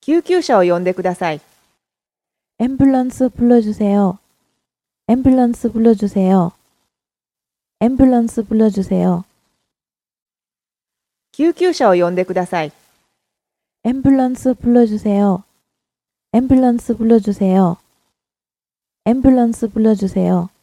救急車を呼んでください。 앰뷸런스 불러주세요. 앰뷸런스 불러주세요. 앰뷸런스 불러주세요. 救急車を呼んでください。 앰뷸런스 불러주세요. 앰뷸런스 불러주세요. 앰뷸런스 불러주세요.